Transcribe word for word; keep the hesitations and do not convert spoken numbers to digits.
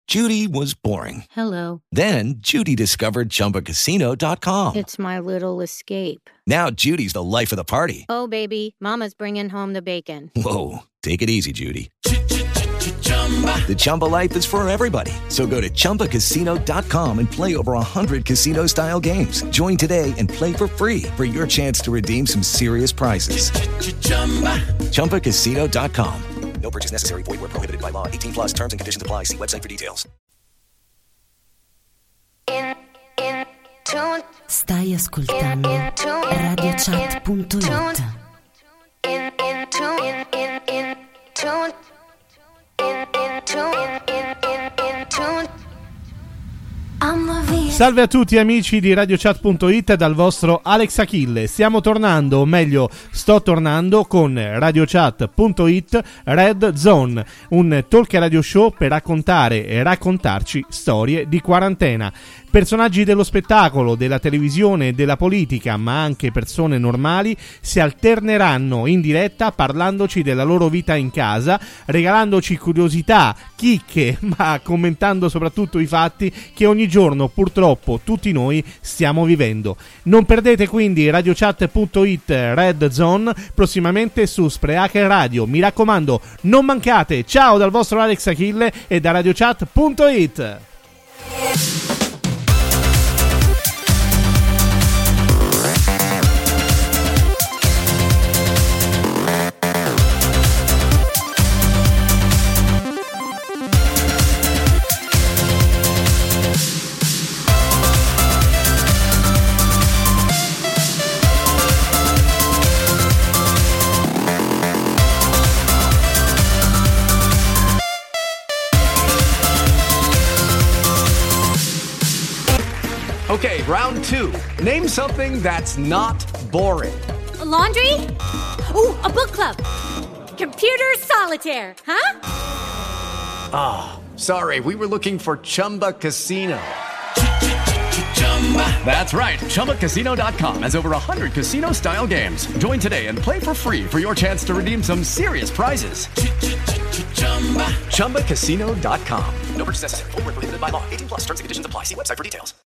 Judy was boring. Hello. Then Judy discovered Chumba Casino dot com. It's my little escape. Now Judy's the life of the party. Oh, baby, mama's bringing home the bacon. Whoa, take it easy, Judy. The Chumba life is for everybody. So go to Chumba Casino dot com and play over one hundred casino-style games. Join today and play for free for your chance to redeem some serious prizes. Chumba Casino dot com. No purchase necessary. Void where prohibited by law. eighteen plus terms and conditions apply. See website for details. In, in, tune. Stai ascoltando radio chat punto it. In, in, tune. In, in, in, tune. In, in, tune. In, in, in, in, tune. Salve a tutti amici di radio chat punto it dal vostro Alex Achille. Stiamo tornando, o meglio sto tornando con radio chat punto it Red Zone, un talk radio show per raccontare e raccontarci storie di quarantena. Personaggi dello spettacolo, della televisione e della politica, ma anche persone normali, si alterneranno in diretta parlandoci della loro vita in casa, regalandoci curiosità, chicche, ma commentando soprattutto i fatti che ogni giorno purtroppo tutti noi stiamo vivendo. Non perdete quindi radio chat punto it Red Zone prossimamente su Spreaker Radio. Mi raccomando, non mancate. Ciao dal vostro Alex Achille e da radio chat punto it. Okay, round two. Name something that's not boring. A laundry? Ooh, a book club. Computer solitaire, huh? Ah, oh, sorry, we were looking for Chumba Casino. That's right, Chumba Casino dot com has over one hundred casino-style games. Join today and play for free for your chance to redeem some serious prizes. Chumba Casino dot com. No purchase necessary. Void where prohibited by law. eighteen plus terms and conditions apply. See website for details.